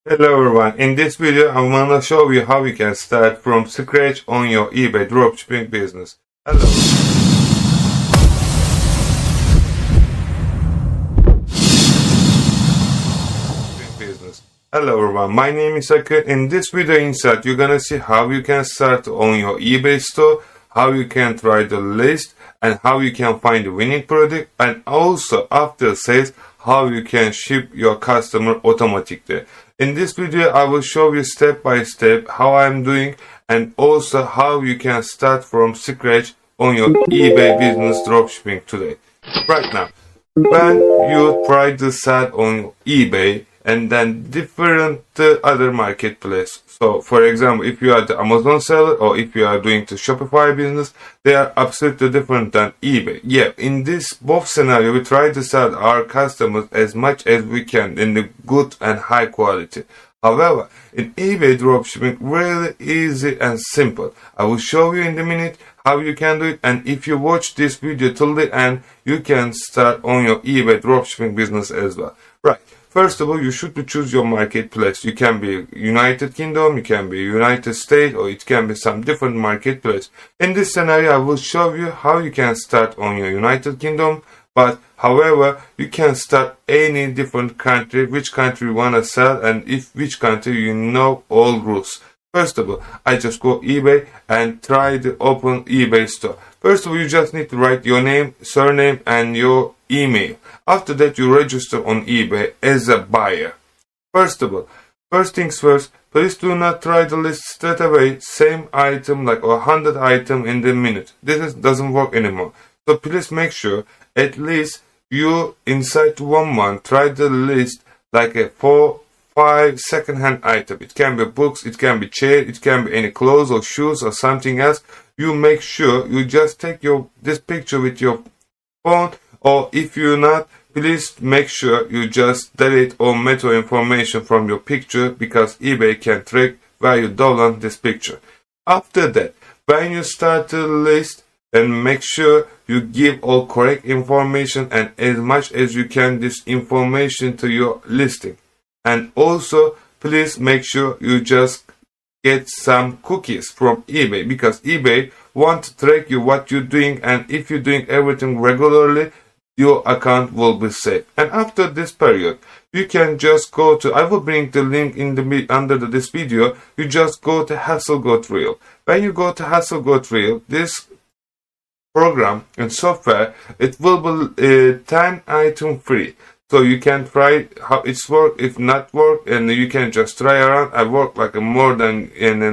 Hello everyone, in this video I'm gonna show you how you can start from scratch on your eBay dropshipping business. Hello. Hello everyone, my name is Akın. In this video inside you're gonna see how you can start on your eBay store, how you can try the list, and how you can find the winning product, and also after sales how you can ship your customer automatically. In this video I will show you step by step how I'm doing and also how you can start from scratch on your eBay business dropshipping today. Right now, when you try to sell on eBay and then different other marketplace. So for example, if you are the Amazon seller or if you are doing the Shopify business, they are absolutely different than eBay. Yeah, in this both scenario, we try to sell our customers as much as we can in the good and high quality. However, in eBay dropshipping, really easy and simple. I will show you in a minute how you can do it, and if you watch this video till the end, you can start on your eBay dropshipping business as well. Right. First of all, you should choose your marketplace. You can be United Kingdom, you can be United States, or it can be some different marketplace. In this scenario, I will show you how you can start on your United Kingdom, but however, you can start any different country, which country you want to sell, and if which country you know all rules. First of all, I just go eBay and try to open eBay store. First of all, you just need to write your name, surname, and your email. After that, you register on eBay as a buyer. First of all, first things first, please do not try to list straight away same item like 100 items in the minute. This doesn't work anymore. So please make sure at least you inside 1 month try to list like a 4-5 second-hand item. It can be books, it can be chair, it can be any clothes or shoes or something else. You make sure you just take this picture with your phone, or if you're not, please make sure you just delete all meta information from your picture, because eBay can track where you download this picture. After that, when you start to list, and make sure you give all correct information and as much as you can this information to your listing. And also, please make sure you just get some cookies from eBay, because eBay want to track you what you're doing, and if you're doing everything regularly, your account will be safe. And after this period, you can just go to, I will bring the link in the under this video, you just go to HustleGoToReal. When you go to HustleGoToReal, this program and software, it will be 10 item free. So you can try how it's work, if not work, and you can just try around. I work like more than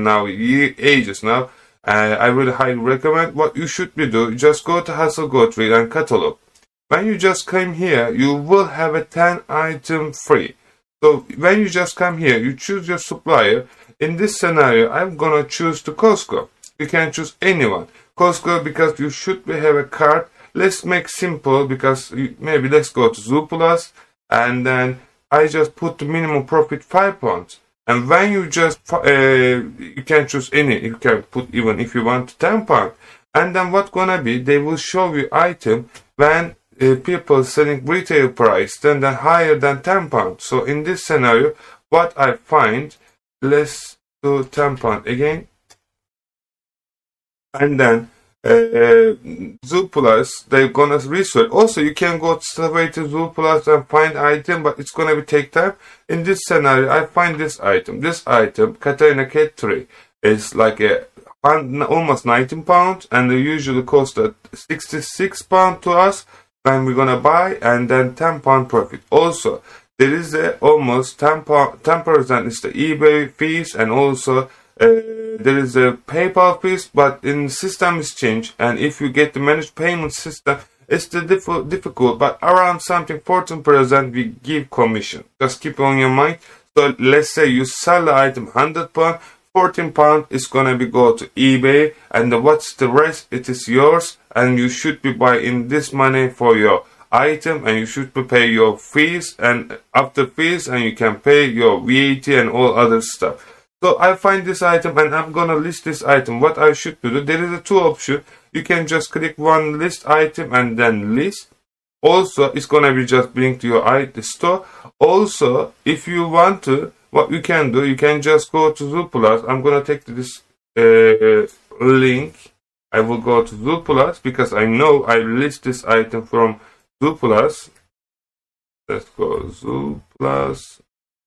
ages now. I really highly recommend. What you should be doing, just go to HustleGoToReal and catalog. When you just come here, you will have a 10 item free. So when you just come here, you choose your supplier. In this scenario, I'm gonna choose the Costco. You can choose anyone. Costco, because you should have a card. Let's make simple, because maybe let's go to Zooplus, and then I just put the minimum profit £5. And when you just you can choose any, you can put even if you want £10. And then what's gonna be, they will show you item when people selling retail price then higher than £10. So in this scenario, what I find, let's do £10 again, and then Zooplus, they're gonna research. Also, you can go straight to Zooplus and find item, but it's gonna take time. In this scenario, I find this item. This item, Katarina Cat 3, is like almost £19, and they usually cost £66 to us when we're gonna buy, and then £10 profit. Also, there is almost 10% is the eBay fees, and also there is a PayPal fees, but in system is changed, and if you get the managed payment system, it's the difficult, but around something 14% we give commission. Just keep on your mind. So let's say you sell the item £100, £14 is gonna be go to eBay, and what's the rest? It is yours, and you should be buying this money for your item, and you should pay your fees, and after fees, and you can pay your VAT and all other stuff. So I find this item and I'm gonna list this item. What I should do, there is a 2 option. You can just click one list item and then list. Also, it's gonna be just bring to your store. Also, if you want to, what you can do, you can just go to Zooplus. I'm gonna take this link. I will go to Zooplus because I know I list this item from Zooplus. Let's go Zooplus.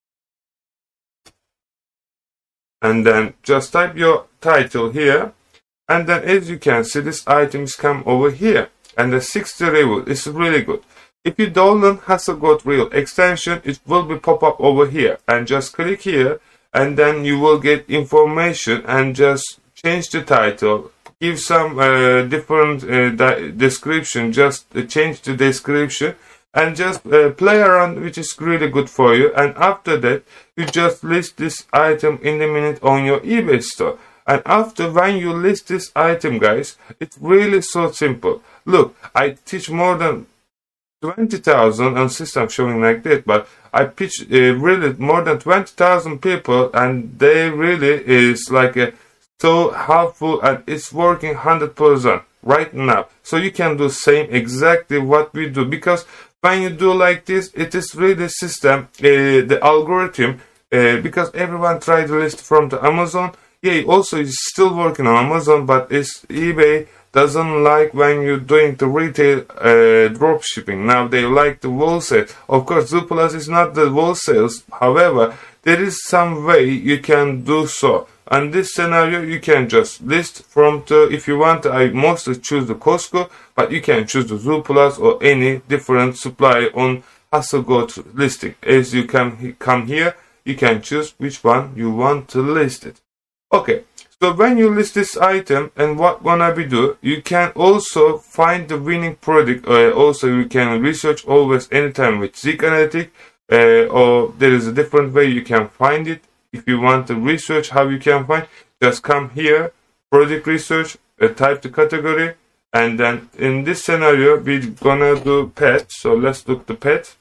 And then just type your title here. And then as you can see, this items come over here. And the 60 review is really good. If you download Hasselblad Reel extension, it will be pop up over here. And just click here. And then you will get information and just change the title. Give some different description. Just change the description. And just play around, which is really good for you. And after that, you just list this item in a minute on your eBay store. And after when you list this item, guys, it's really so simple. Look, I teach more than 20,000 on system showing like that, but I pitch really more than 20,000 people, and they really is like so helpful, and it's working 100% right now. So you can do same exactly what we do, because when you do like this, it is really system, the algorithm, because everyone tried to list from the Amazon. Yeah, also it's still working on Amazon, but it's eBay doesn't like when you're doing the retail drop shipping. Now they like the wholesale. Of course, Zooplus is not the wholesales. However, there is some way you can do so. And this scenario, you can just list from the, if you want, I mostly choose the Costco, but you can choose the Zooplus or any different supplier on Hasselblad listing. As you can come here, you can choose which one you want to list it. Okay, so when you list this item, and what gonna be do, you can also find the winning product. Also, you can research always anytime with Zik Analytics, or there is a different way you can find it. If you want to research how you can find, just come here, product research, type the category, and then in this scenario, we're gonna do pet. So let's look the pet.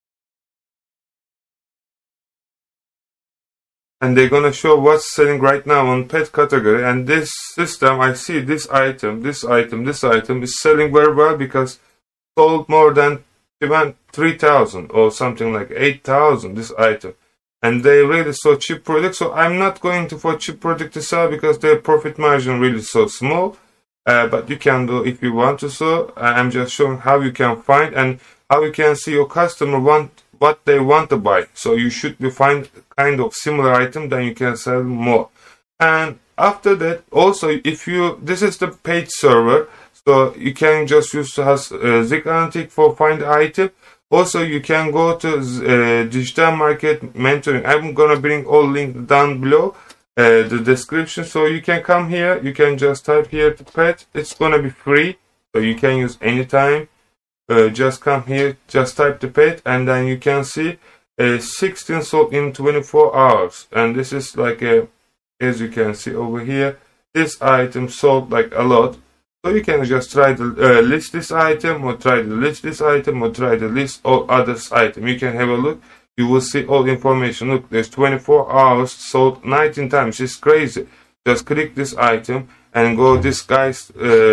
And they're gonna show what's selling right now on pet category. And this system, I see this item is selling very well because sold more than even 3,000 or something like 8,000 this item. And they really so cheap product. So I'm not going to for cheap product to sell because their profit margin really so small. But you can do if you want to. So I'm just showing how you can find and how you can see your customer want what they want to buy. So you should be find kind of similar item, then you can sell more. And after that, also if you, this is the page server, so you can just use Zik Analytics for find item. Also, you can go to digital market mentoring. I'm gonna bring all link down below the description, so you can come here. You can just type here to pet. It's gonna be free, so you can use anytime. Just come here, just type the pet, and then you can see 16 sold in 24 hours. And this is like as you can see over here, this item sold like a lot. So you can just try to list this item, or try to list this item, or try to list all others item. You can have a look. You will see all information. Look, there's 24 hours sold 19 times. It's crazy. Just click this item and go this guys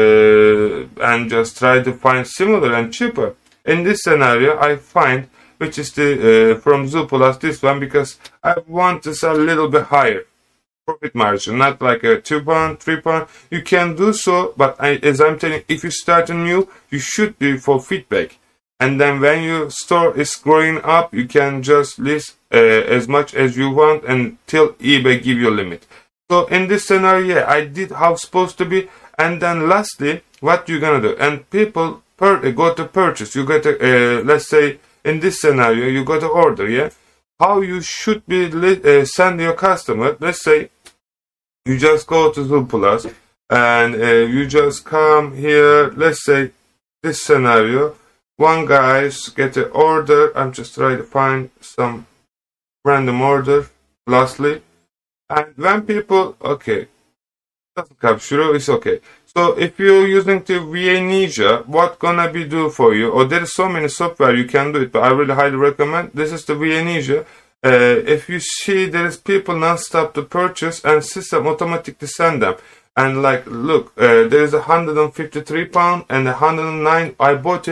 and just try to find similar and cheaper. In this scenario, I find which is the from Zooplus, this one, because I want to sell a little bit higher profit margin, not like a £2, £3. You can do so, but as I'm telling you, if you start new, you should do for feedback. And then when your store is growing up, you can just list as much as you want until eBay give you a limit. So in this scenario, yeah, I did how it's supposed to be. And then lastly, what you're gonna do? And people go to purchase. You got to let's say in this scenario, you got to order. Yeah, how you should be send your customer. Let's say you just go to Zooplus and you just come here. Let's say this scenario, one guys get an order. I'm just trying to find some random order. Lastly. And when people, okay, doesn't capture, it's okay. So if you're using the VA Ninja, what gonna be do for you? Or there's so many software you can do it, but I really highly recommend. This is the VA Ninja. If you see there is people non-stop to purchase and system automatically send them. And like, look, there is £153 and 109. I bought it.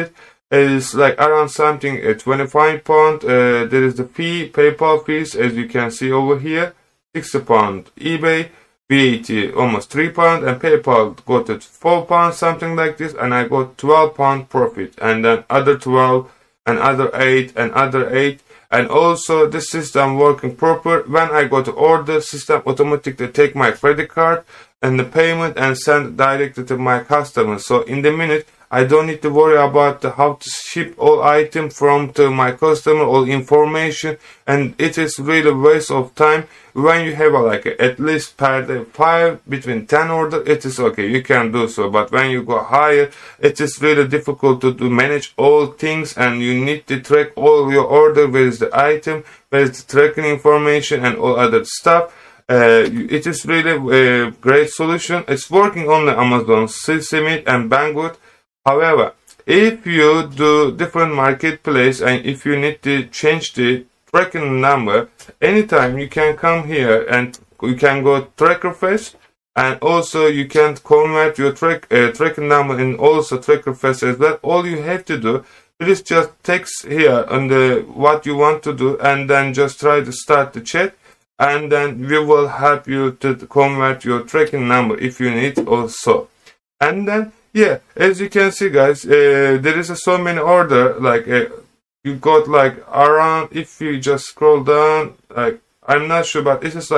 is like around something 25 pound. There is the fee, PayPal fees, as you can see over here, 60 pound eBay, VAT almost 3 pound, and PayPal got it 4 pounds, something like this, and I got 12 pound profit, and then other 12, and other 8, and other 8. And also the system working proper. When I go to order, system automatically take my credit card and the payment and send directly to my customer. So in the minute, I don't need to worry about how to ship all items from to my customer, all information, and it is really waste of time. When you have at least per day 5 between 10 order, it is okay, you can do so. But when you go higher, it is really difficult to manage all things, and you need to track all your order, where is the item, where is the tracking information, and all other stuff. It is really a great solution. It's working on the Amazon, Seesimit, and Banggood. However, if you do different marketplace and if you need to change the tracking number, anytime you can come here and you can go tracker face, and also you can convert your tracking number in also tracker face as well. All you have to do, please just text here on the what you want to do, and then just try to start the chat, and then we will help you to convert your tracking number if you need also. And then yeah, as you can see, guys, there is so many order, you got around, if you just scroll down, I'm not sure, but it is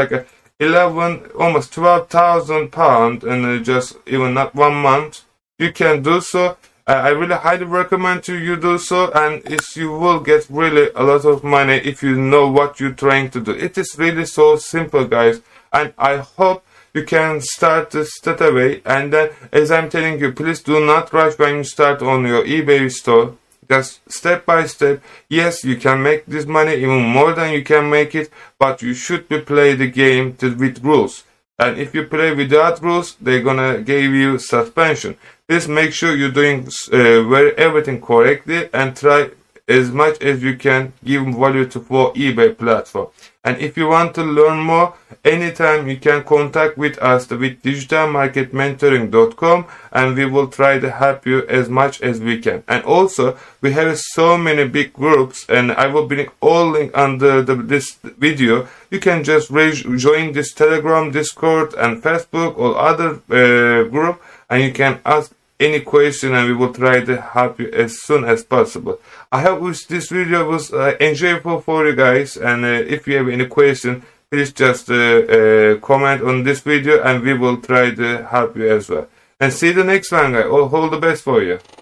11, almost 12,000 pounds, and just even not 1 month. You can do so. I really highly recommend you do so, and you will get really a lot of money if you know what you're trying to do. It is really so simple, guys, and I hope you can start this straight away. And then, as I'm telling you, please do not rush when you start on your eBay store. Just step by step. Yes, you can make this money even more than you can make it, but you should play the game with rules. And if you play without rules, they're gonna give you suspension. Please make sure you're doing everything correctly, and try as much as you can give value to for eBay platform. And if you want to learn more, anytime you can contact with us with digitalmarketmentoring.com, and we will try to help you as much as we can. And also, we have so many big groups, and I will bring all link under this video. You can just join this Telegram, Discord, and Facebook or other group, and you can ask any question, and we will try to help you as soon as possible. I hope this video was enjoyable for you guys, and if you have any question, please just comment on this video, and we will try to help you as well. And see you the next one, guys. All the best for you.